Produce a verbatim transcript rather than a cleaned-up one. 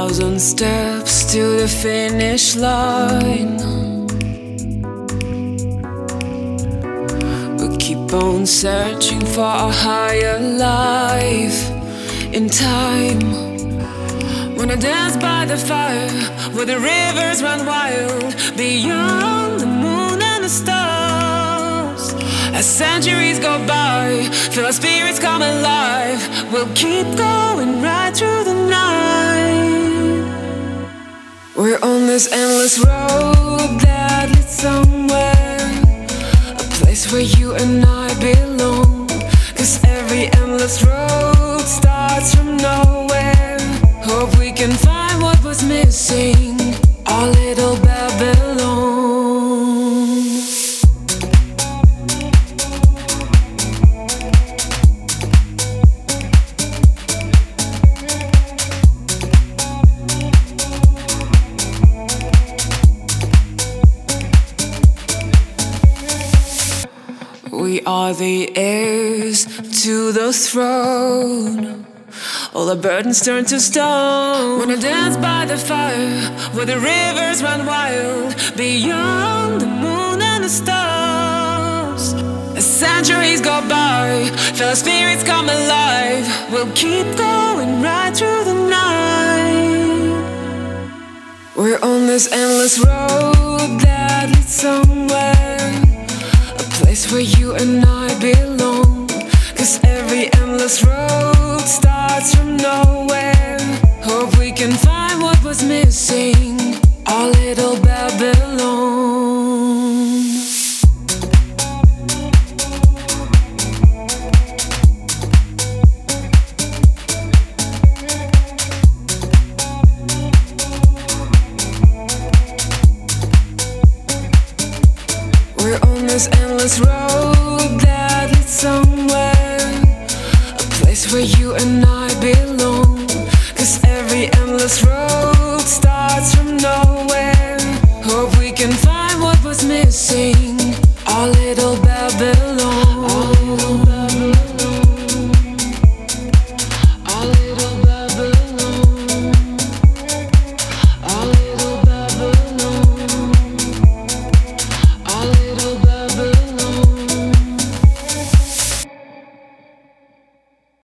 thousand steps to the finish line. We keep on searching for a higher life in time. Wanna dance by the fire where the rivers run wild, beyond the moon and the stars. As centuries go by, feel our spirits come alive. We'll keep going right through the night. We're on this endless road that leads somewhere, a place where you and I belong. Cause every endless road starts from nowhere. Hope we can find what was missing, our little Babylon. We are the heirs to the throne. All our burdens turn to stone. Wanna dance by the fire where the rivers run wild, beyond the moon and the stars. As centuries go by, feel our spirits come alive. We'll keep going right through the night. We're on this endless road that leads somewhere, a place where you and I belong. Cause every endless road starts from nowhere. Hope we can find what was missing, our little Babylon. We're on this endless road that leads somewhere, a place where you and I belong. Cause every endless road starts from nowhere. Hope we can find what was missing, our little Babylon.